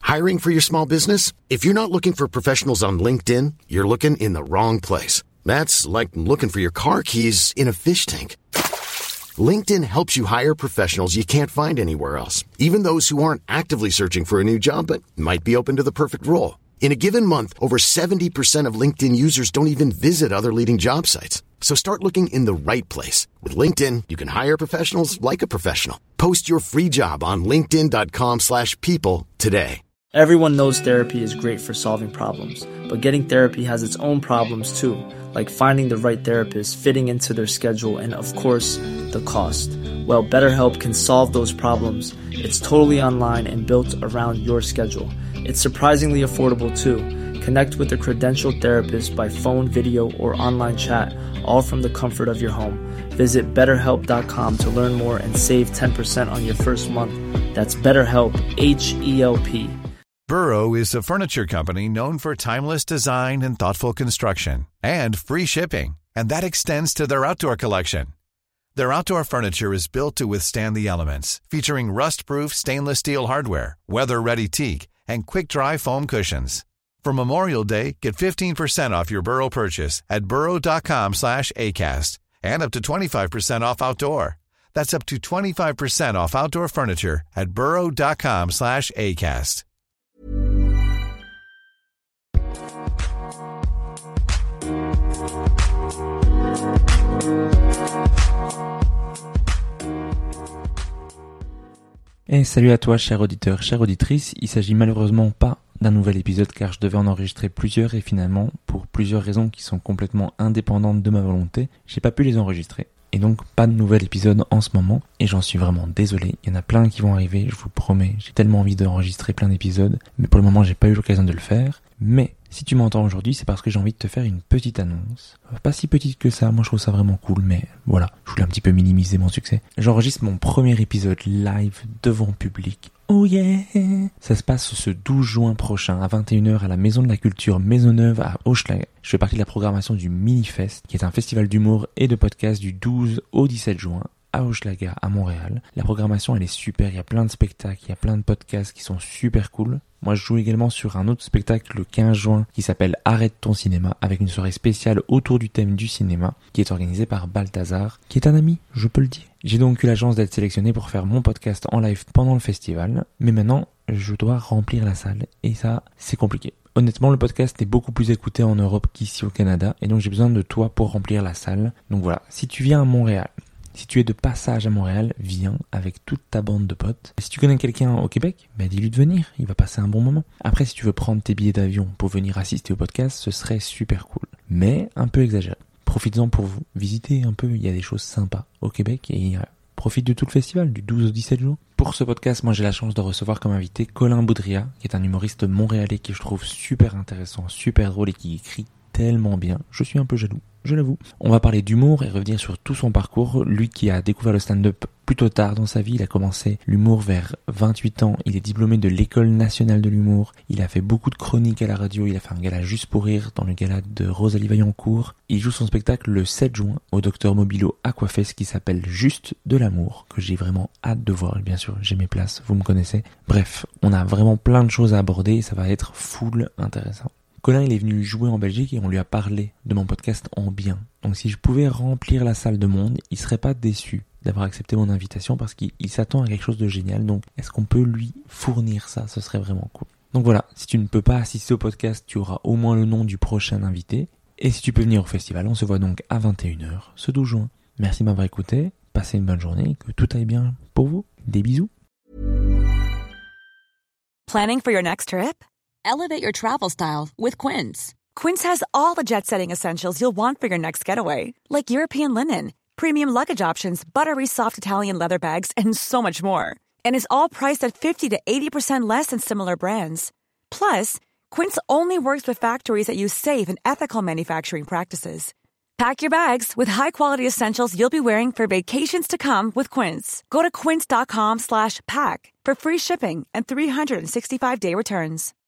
Hiring for your small business? If you're not looking for professionals on LinkedIn, you're looking in the wrong place. That's like looking for your car keys in a fish tank. LinkedIn helps you hire professionals you can't find anywhere else, even those who aren't actively searching for a new job but might be open to the perfect role. In a given month, over 70% of LinkedIn users don't even visit other leading job sites. So start looking in the right place. With LinkedIn, you can hire professionals like a professional. Post your free job on linkedin.com/people today. Everyone knows therapy is great for solving problems, but getting therapy has its own problems too, like finding the right therapist, fitting into their schedule, and of course, the cost. Well, BetterHelp can solve those problems. It's totally online and built around your schedule. It's surprisingly affordable too. Connect with a credentialed therapist by phone, video, or online chat, all from the comfort of your home. Visit BetterHelp.com to learn more and save 10% on your first month. That's BetterHelp, H-E-L-P. Burrow is a furniture company known for timeless design and thoughtful construction, and free shipping, and that extends to their outdoor collection. Their outdoor furniture is built to withstand the elements, featuring rust-proof stainless steel hardware, weather-ready teak, and quick-dry foam cushions. For Memorial Day, get 15% off your Burrow purchase at burrow.com/acast, and up to 25% off outdoor. That's up to 25% off outdoor furniture at burrow.com/acast. Et salut à toi, cher auditeur, chère auditrice. Il s'agit malheureusement pas d'un nouvel épisode car je devais en enregistrer plusieurs et finalement, pour plusieurs raisons qui sont complètement indépendantes de ma volonté, j'ai pas pu les enregistrer. Et donc pas de nouvel épisode en ce moment et j'en suis vraiment désolé. Il y en a plein qui vont arriver, je vous promets. J'ai tellement envie d'enregistrer plein d'épisodes, mais pour le moment j'ai pas eu l'occasion de le faire. Mais si tu m'entends aujourd'hui, c'est parce que j'ai envie de te faire une petite annonce. Pas si petite que ça, moi je trouve ça vraiment cool, mais voilà, je voulais un petit peu minimiser mon succès. J'enregistre mon premier épisode live devant public. Oh yeah! Ça se passe ce 12 juin prochain à 21h à la Maison de la Culture Maisonneuve à Hochelaga. Je fais partie de la programmation du Minifest, qui est un festival d'humour et de podcast du 12 au 17 juin à Hochelaga, à Montréal. La programmation, elle est super, il y a plein de spectacles, il y a plein de podcasts qui sont super cool. Moi, je joue également sur un autre spectacle le 15 juin qui s'appelle Arrête ton cinéma, avec une soirée spéciale autour du thème du cinéma, qui est organisée par Balthazar, qui est un ami, je peux le dire. J'ai donc eu la chance d'être sélectionné pour faire mon podcast en live pendant le festival, mais maintenant, je dois remplir la salle, et ça, c'est compliqué. Honnêtement, le podcast est beaucoup plus écouté en Europe qu'ici au Canada, et donc j'ai besoin de toi pour remplir la salle. Donc voilà, si tu viens à Montréal, si tu es de passage à Montréal, viens avec toute ta bande de potes. Et si tu connais quelqu'un au Québec, dis-lui de venir, il va passer un bon moment. Après, si tu veux prendre tes billets d'avion pour venir assister au podcast, ce serait super cool. Mais un peu exagéré. Profites-en pour vous visiter un peu, il y a des choses sympas au Québec et profite de tout le festival, du 12 au 17 jours. Pour ce podcast, moi j'ai la chance de recevoir comme invité Colin Boudria, qui est un humoriste montréalais qui je trouve super intéressant, super drôle et qui écrit tellement bien. Je suis un peu jaloux, je l'avoue. On va parler d'humour et revenir sur tout son parcours. Lui qui a découvert le stand-up plutôt tard dans sa vie, il a commencé l'humour vers 28 ans. Il est diplômé de l'École nationale de l'humour. Il a fait beaucoup de chroniques à la radio. Il a fait un gala Juste pour rire dans le gala de Rosalie Vaillancourt. Il joue son spectacle le 7 juin au Dr Mobilo Aquafest qui s'appelle Juste de l'amour, que j'ai vraiment hâte de voir. Et bien sûr, j'ai mes places, vous me connaissez. Bref, on a vraiment plein de choses à aborder et ça va être full intéressant. Colin, il est venu jouer en Belgique et on lui a parlé de mon podcast en bien. Donc si je pouvais remplir la salle de monde, il serait pas déçu d'avoir accepté mon invitation parce qu'il s'attend à quelque chose de génial. Donc est-ce qu'on peut lui fournir ça? Ce serait vraiment cool. Donc voilà, si tu ne peux pas assister au podcast, tu auras au moins le nom du prochain invité. Et si tu peux venir au festival, on se voit donc à 21h ce 12 juin. Merci de m'avoir écouté, passez une bonne journée, que tout aille bien pour vous. Des bisous. Planning for your next trip? Elevate your travel style with Quince. Quince has all the jet-setting essentials you'll want for your next getaway, like European linen, premium luggage options, buttery soft Italian leather bags, and so much more. And is all priced at 50 to 80% less than similar brands. Plus, Quince only works with factories that use safe and ethical manufacturing practices. Pack your bags with high-quality essentials you'll be wearing for vacations to come with Quince. Go to quince.com/pack for free shipping and 365-day returns.